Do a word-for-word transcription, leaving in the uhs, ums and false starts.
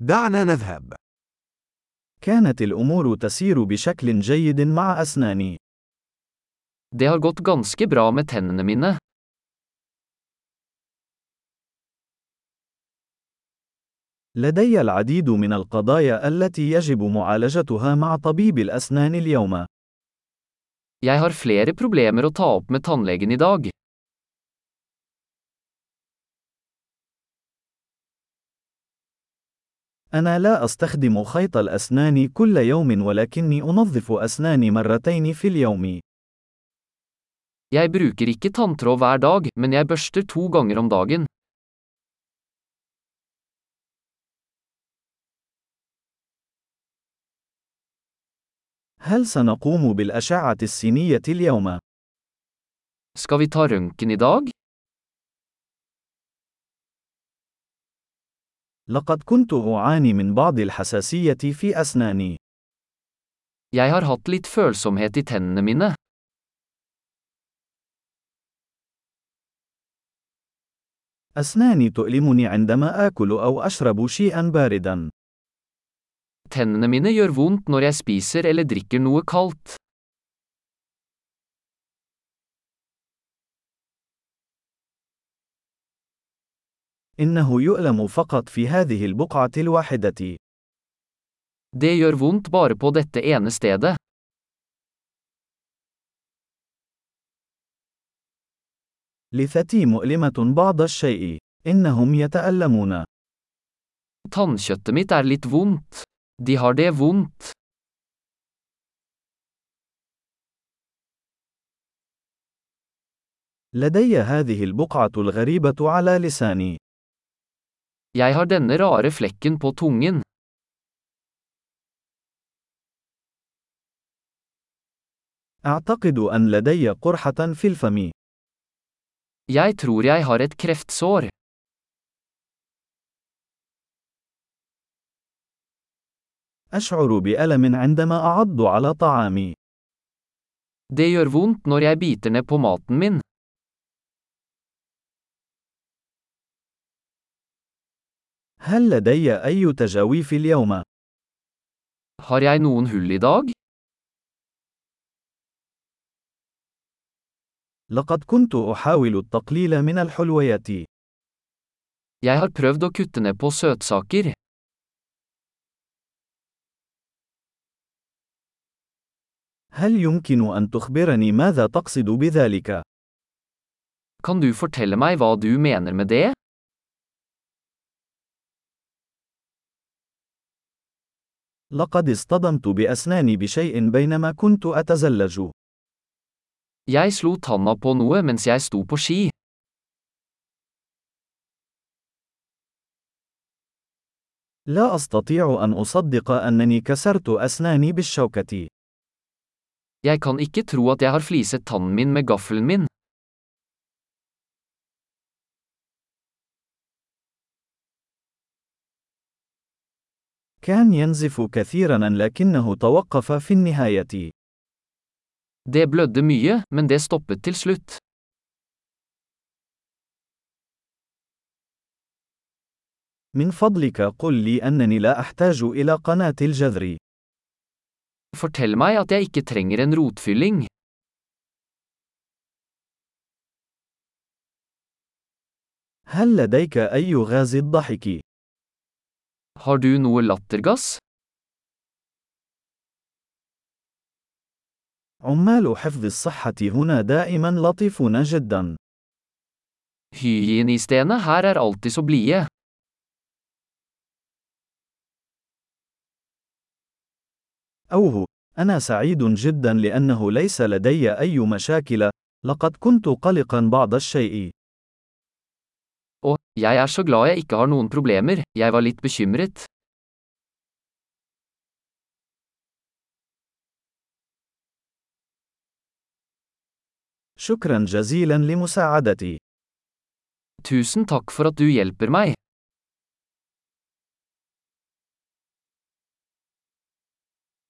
دعنا نذهب. كانت الأمور تسير بشكل جيد مع أسناني. Det har gått ganske bra med tennene mine. لدي العديد من القضايا التي يجب معالجتها مع طبيب الأسنان اليوم. Jeg har flere problemer å ta opp med tannlegen i dag. أنا لا أستخدم خيط الأسنان كل يوم ولكني أنظف أسناني مرتين في اليوم. Jeg bruker ikke tanntråd hver dag, men jeg børster to ganger om dagen. هل سنقوم بالأشعة السينية اليوم؟ Skal vi ta røntgen i dag? لقد كنت أعاني من بعض الحساسية في أسناني. Jeg har hatt litt følsomhet i tennene mine. أسناني تؤلمني عندما آكل أو أشرب شيئا باردا. Tennene mine gjør vondt når jeg spiser eller drikker noe kaldt. إنه يؤلم فقط في هذه البقعة الواحدة. Det gjør vondt bare på dette ene stedet. لثتي مؤلمة بعض الشيء. إنهم يتألمون. Tannkjøttet mitt er litt vondt. De har det vondt. لدي هذه البقعة الغريبة على لساني. Jeg har denne rare flekken på tungen. أعتقد أن لدي قرحة في الفم. Jeg tror jeg har et kreftsår. أشعر بألم عندما أعض على طعامي. Det gjør vondt når jeg biter ned på maten min. هل لدي أي تجاويف اليوم؟ Har jeg noen hull i dag? لقد كنت أحاول التقليل من الحلويات. Jeg har prøvd å kutte ned på søtsaker. هل يمكن أن تخبرني ماذا تقصد بذلك؟ Kan du fortelle meg hva du mener med det? لقد اصطدمت بأسناني بشيء بينما كنت أتزلج. Jeg slo tanna på noe mens jeg sto på ski. لا أستطيع أن أصدق أنني كسرت أسناني بالشوكة. Jeg kan ikke tro at jeg har fliset tannen min med gaffelen min. كان ينزف كثيرا لكنه توقف في النهاية. Det blødde mye, men det stoppet til slutt. من فضلك قل لي أنني لا أحتاج إلى قناة الجذر. Fortell meg at jeg ikke trenger en rotfylling. هل لديك أي غاز الضحك؟ Har du noe lattergass? عمال حفظ الصحة هنا دائما لطيفون جدا. Hygienistene her er alltid så blide. أوه، أنا سعيد جدا لأنه ليس لدي أي مشاكل. لقد كنت قلقا بعض الشيء. Og, jeg er så glad jeg ikke har noen problemer, jeg var litt bekymret. شكرا جزيلا لمساعدتي. Tusen takk for at du hjelper meg.